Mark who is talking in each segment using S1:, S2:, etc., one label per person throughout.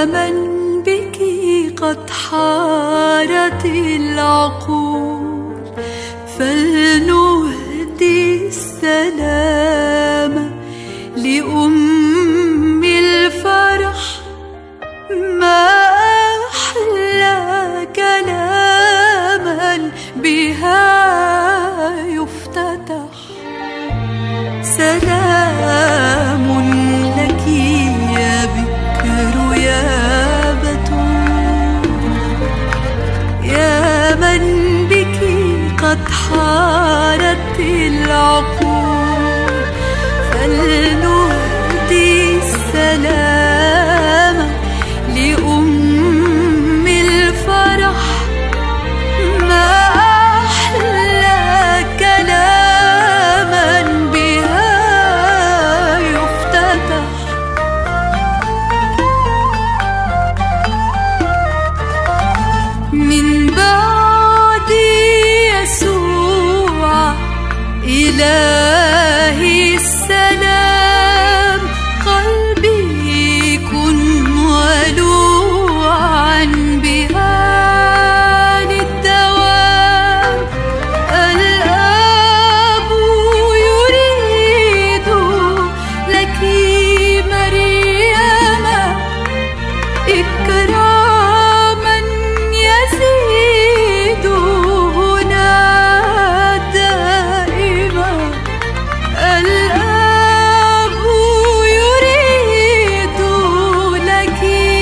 S1: من بك قد حارت العقول، فلنهدي السلام لأم الفرح. ما أحلى كلاما بها يفتتح. سلام لك يا بكر يا بتول، يا من بك قد حارت العقول، فلنهدي السلام لأم الفرح. ما أحلى كلاما بها يفتتح. من بعد يسوع إلهي السلام، قلبي كن ولوعا بها للدوام. الآب يريد لك مريم إكراما يزيد هنا دائما. الآب يريد لك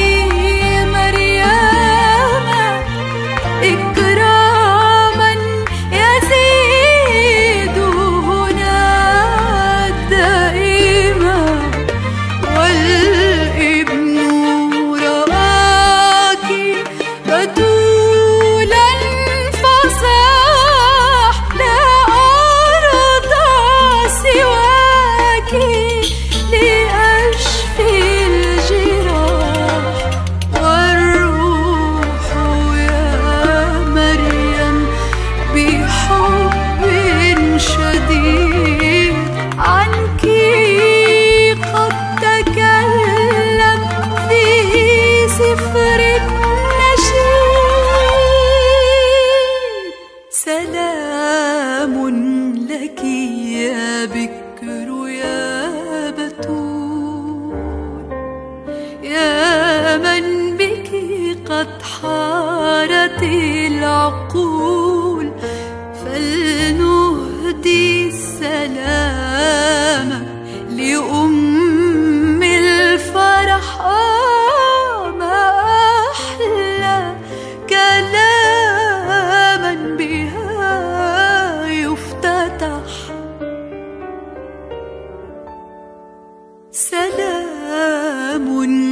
S1: مريم إكراما يزيد هنا دائما. والابن رآك بتولا فصاح، لا أرضى سواك لأشفي الجراح. والروح يا مريم بحب شديد عنك قد تكلم في سفر النشيد. سلام لك يا بكر يا بتول، يا من بك قد حارت العقول، فلنهدي السلام لأم الفرح. ما أحلى كلاما بها يفتتح. سلام